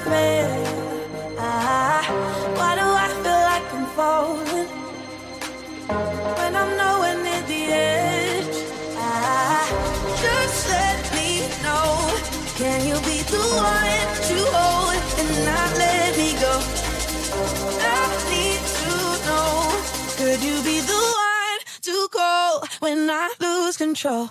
thread. Why do I feel like I'm falling when I'm nowhere near the edge? Just let me know. Can you be the one to hold and not let me go? I need to know. Could you be the one to call when I lose control?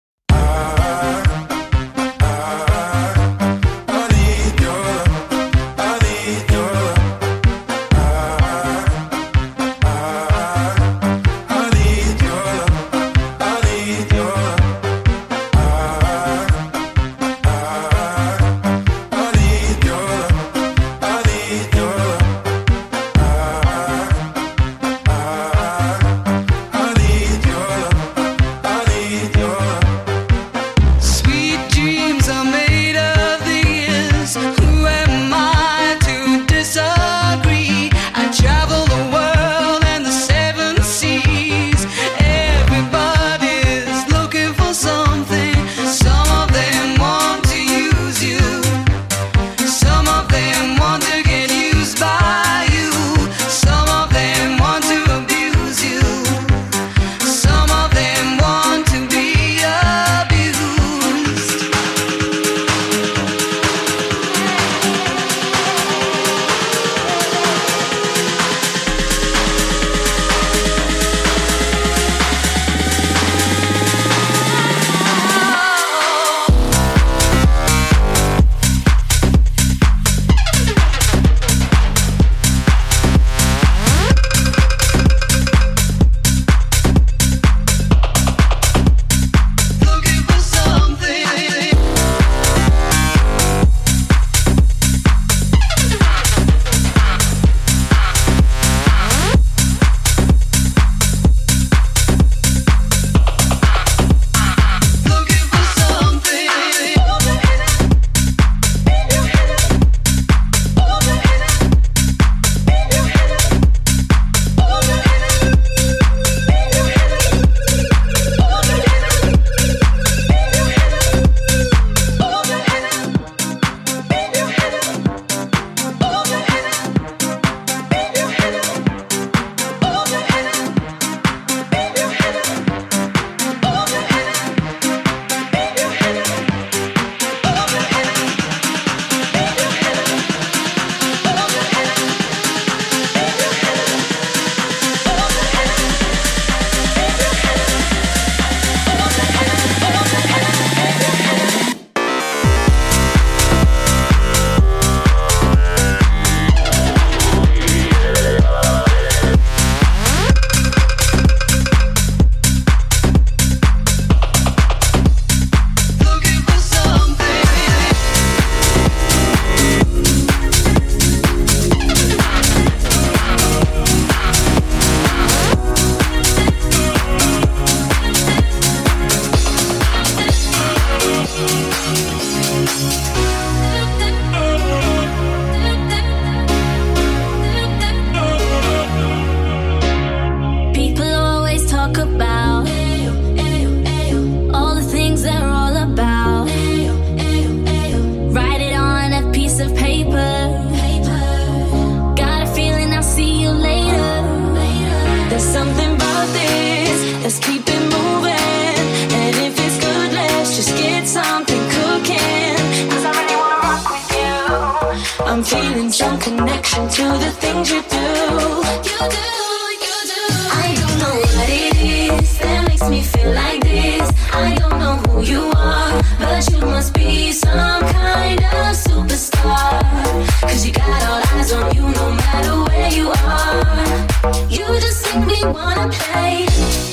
feeling some connection to the things you do. You do, you do. I don't know what it is that makes me feel like this. I don't know who you are, but you must be some kind of superstar. Cause you got all eyes on you no matter where you are. You just make me wanna play.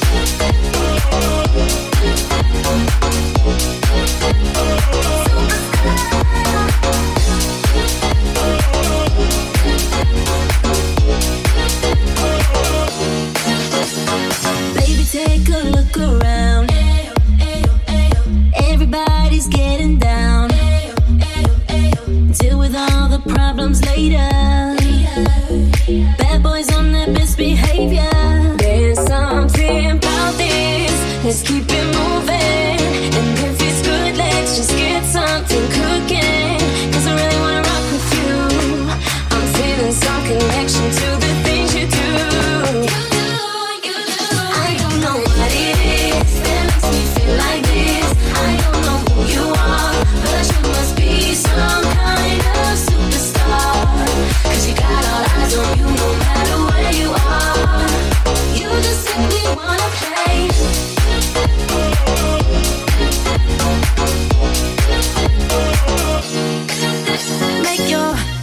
Baby, take a look around. Everybody's getting down. Deal with all the problems later. Bad boys on their best behavior. There's something about this. Let's keep it moving. And if it's good, let's just get something cooking. Cause I really wanna rock with you.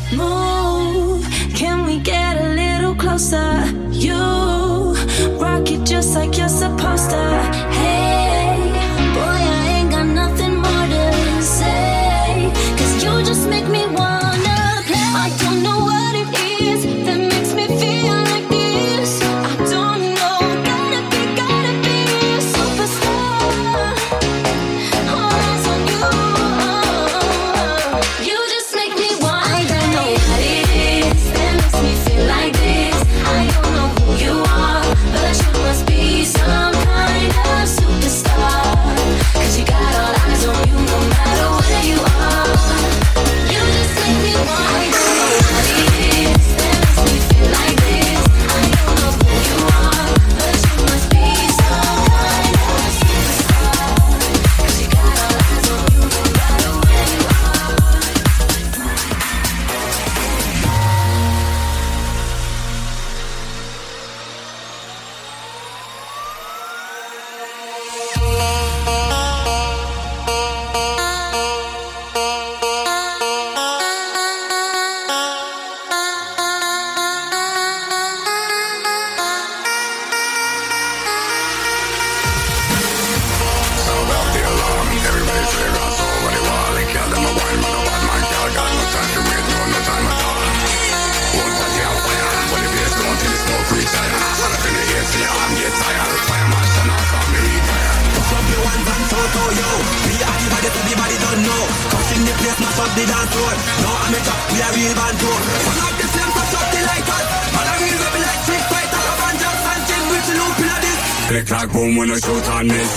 Move, can we get a little closer? You rock it just like you're supposed to. Hey, boy, I ain't got nothing more to say, 'cause you just make me wanna play. I don't know what it is that makes me feel like this. I don't know, gotta be a superstar. All eyes on you. You just make me want. I don't know what it is that makes me feel like this. I don't know who you are, but you must be some kind of superstar, 'cause you got all eyes on you no matter where you are. You just make me want. I don't know what it is that makes me feel like this. I don't know who you are, but you must be some kind of superstar, 'cause you got all eyes on you no matter where you are. Click clack boom when I shoot on this.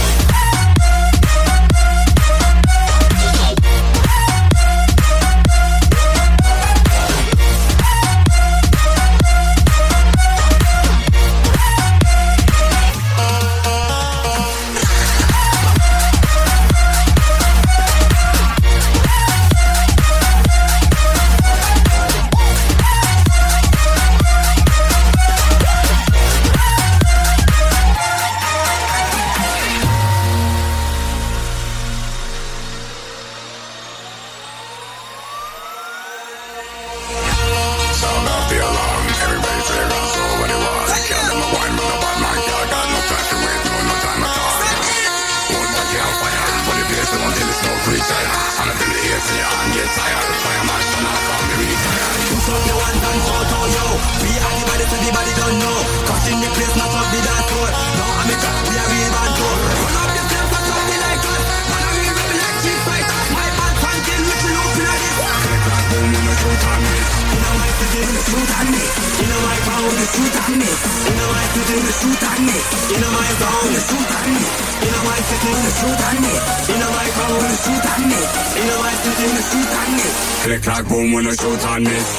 Click clack boom when I shoot on this.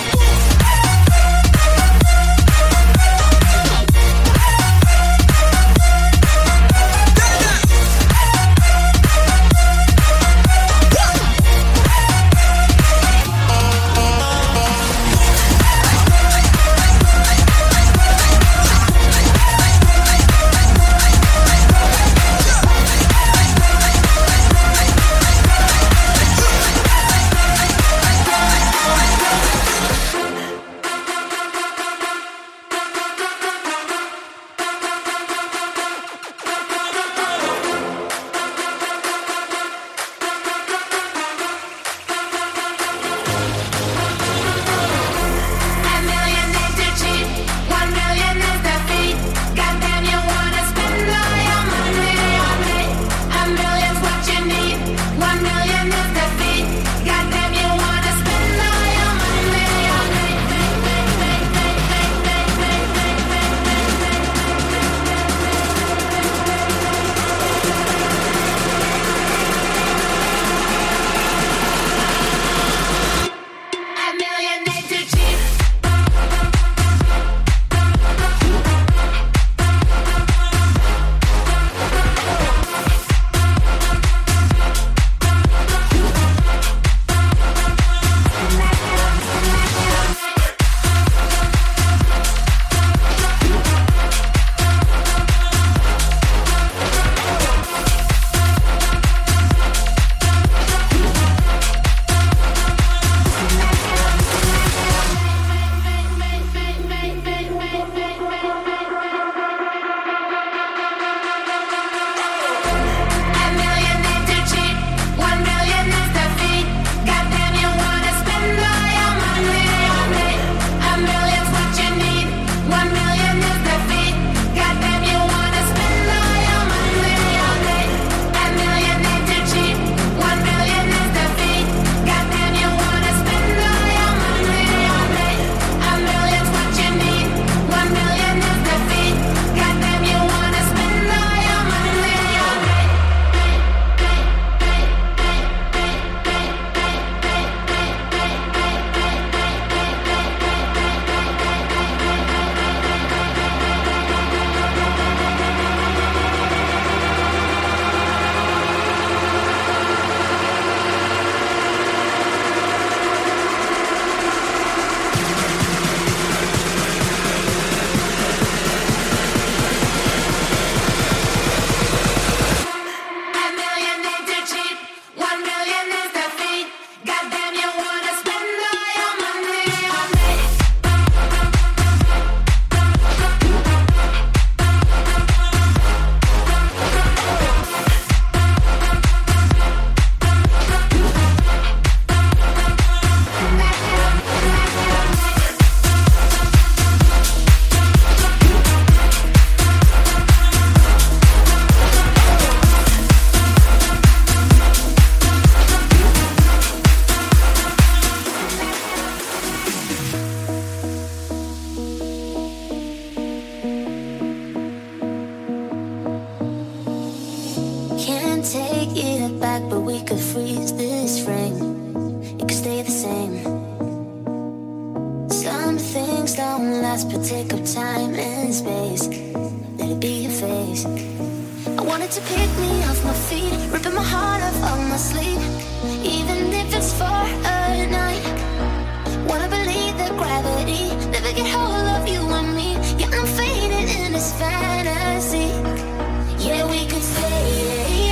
last, but take up time and space. Let it be your face. I wanted to pick me off my feet, ripping my heart off my sleeve, even if it's for a night. Wanna believe that gravity never get hold of you and me. Yeah, I'm fading in this fantasy. Yeah, we could stay,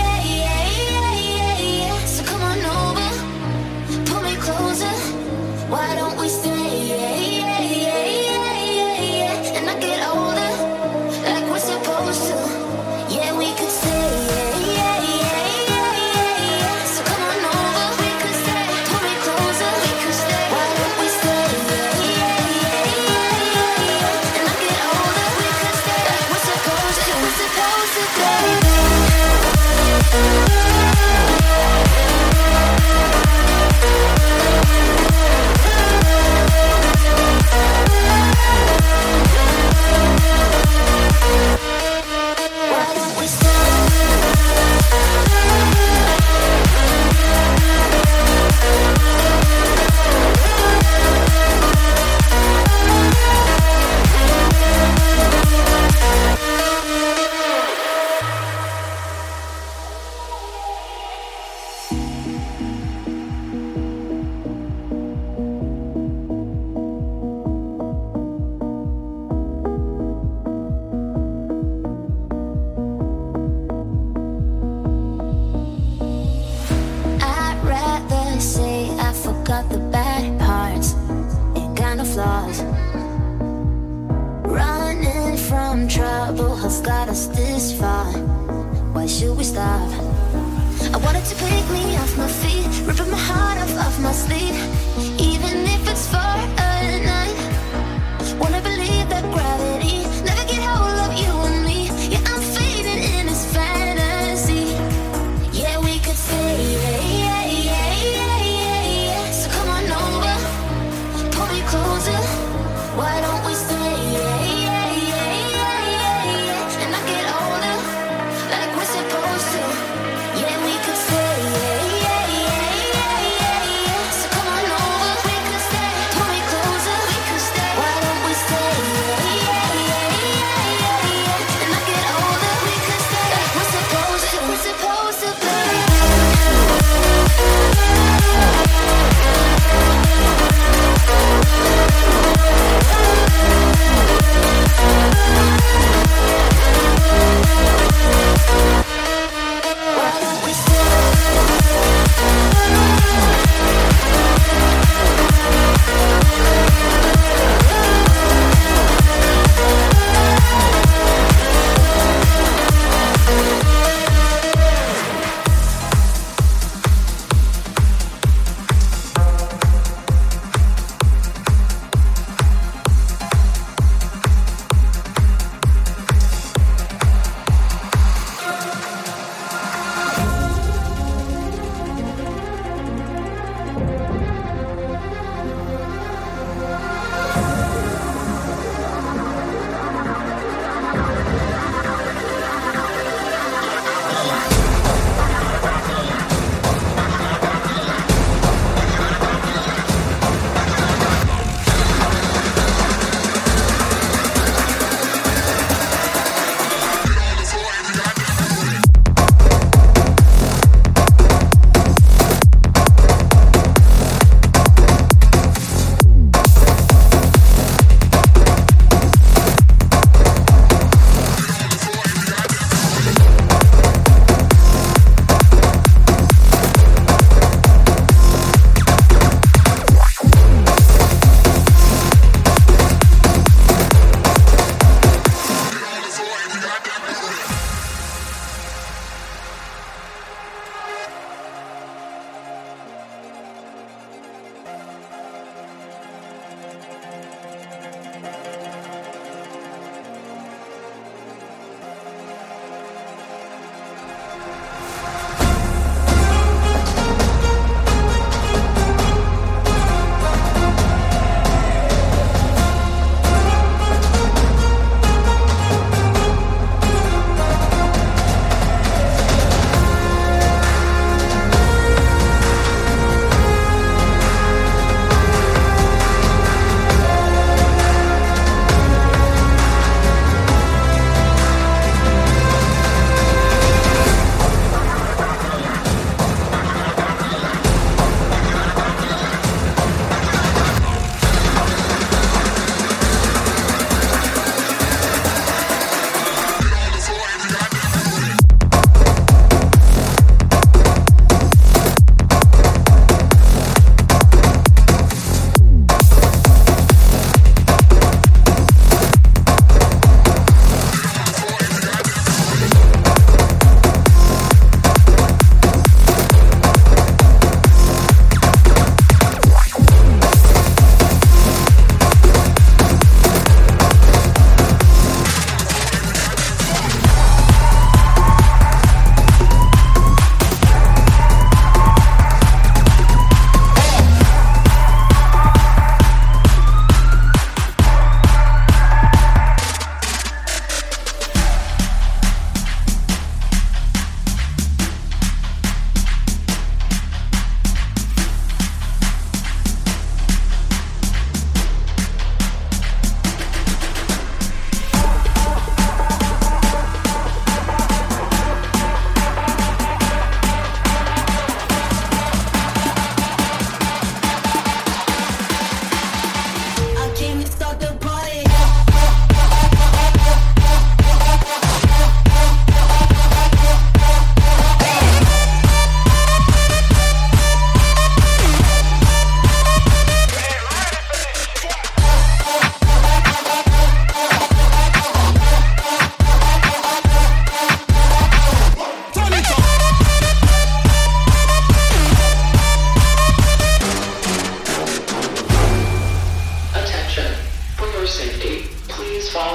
so come on over, pull me closer. Why don't we stay? And I get older, like we're supposed to. Yeah, we could stay. So come on over, we could stay. Pull me closer, we could stay. Why don't we stay? And I get older, we could stay. Like we're supposed to. We're supposed to stay. Yeah, we could stay. So come on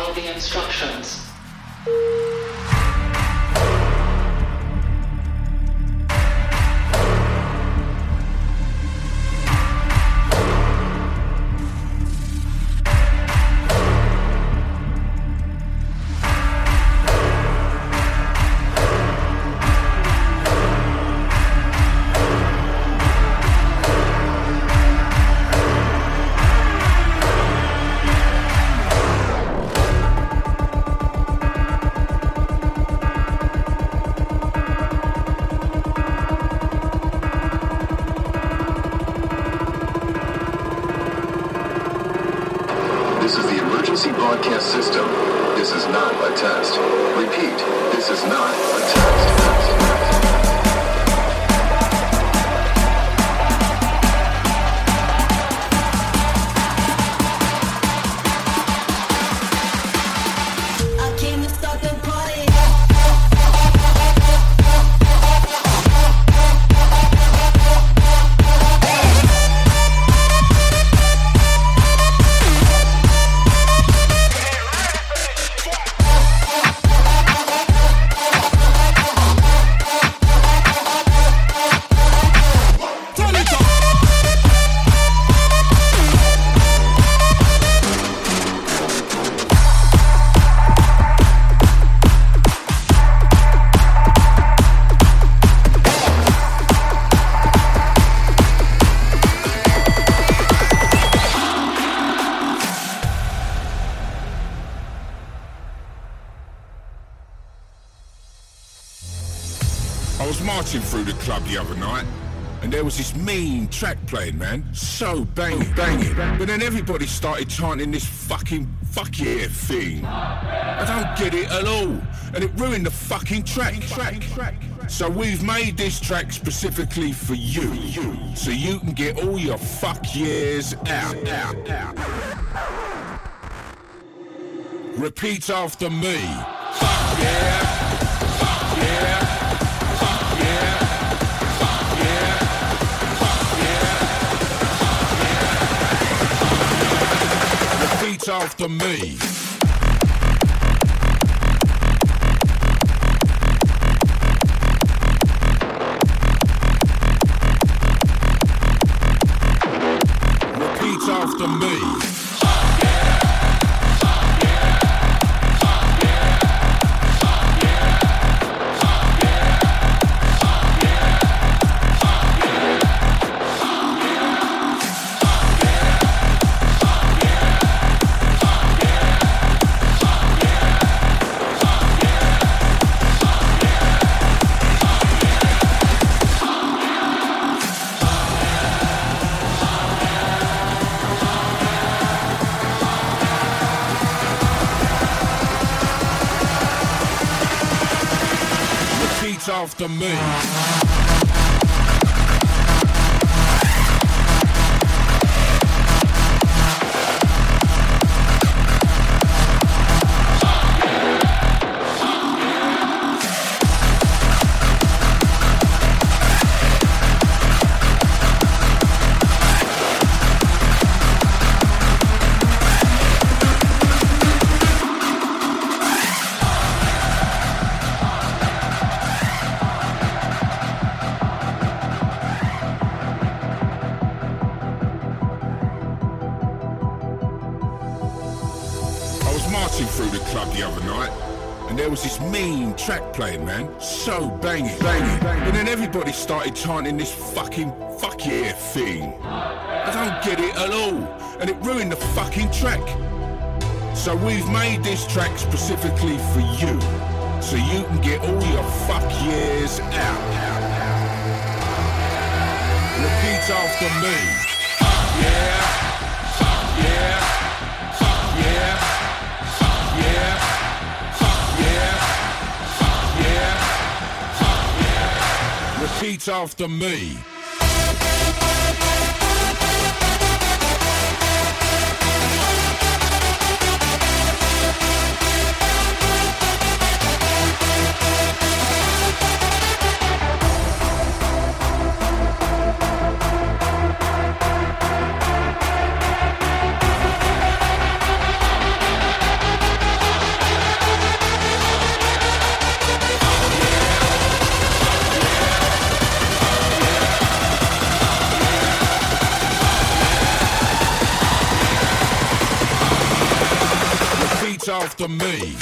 follow the instructions. This is the emergency broadcast system. This is not a test. Repeat, this is not a test. I was marching through the club the other night, and there was this mean track playing, man. So banging. But then everybody started chanting this fucking fuck yeah thing. I don't get it at all. And it ruined the fucking track. So we've made this track specifically for you. So you can get all your fuck yeahs out. Repeat after me. Fuck yeah. Fuck yeah. Repeat after me. Repeat after me. After me. Marching through the club the other night, and there was this mean track playing, man. So banging. But then everybody started chanting this fucking fuck yeah thing. I don't get it at all. And it ruined the fucking track. So we've made this track specifically for you. So you can get all your fuck yeahs out. Repeat after me. Fuck yeah. Fuck yeah. Fuck yeah. Repeat after me. after me.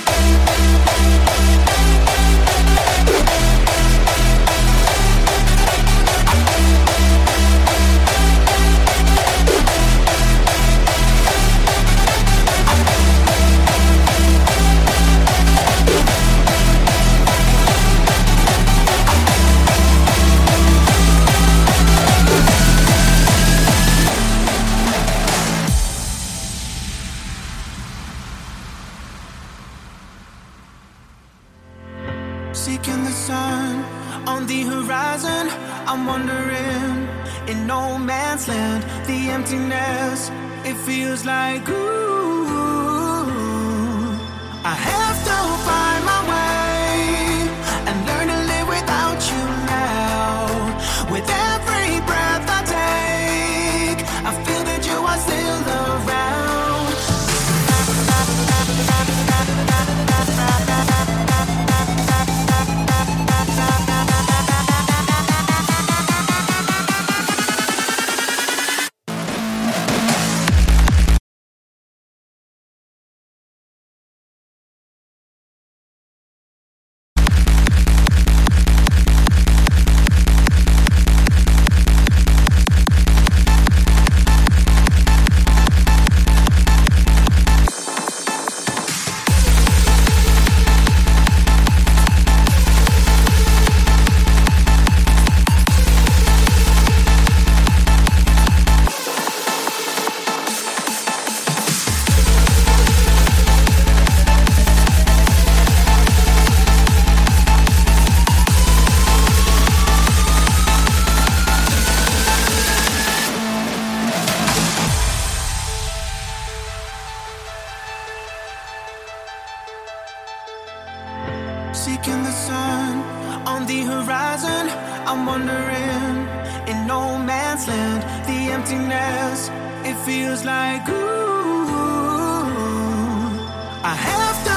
Seeking the sun on the horizon, I'm wandering in no man's land. The emptiness, it feels like ooh, I have to find my way and learn to live without you now. With every breath I take, I feel that you are still around. Seeking the sun on the horizon, I'm wandering in no man's land. The emptiness, it feels like ooh, I have to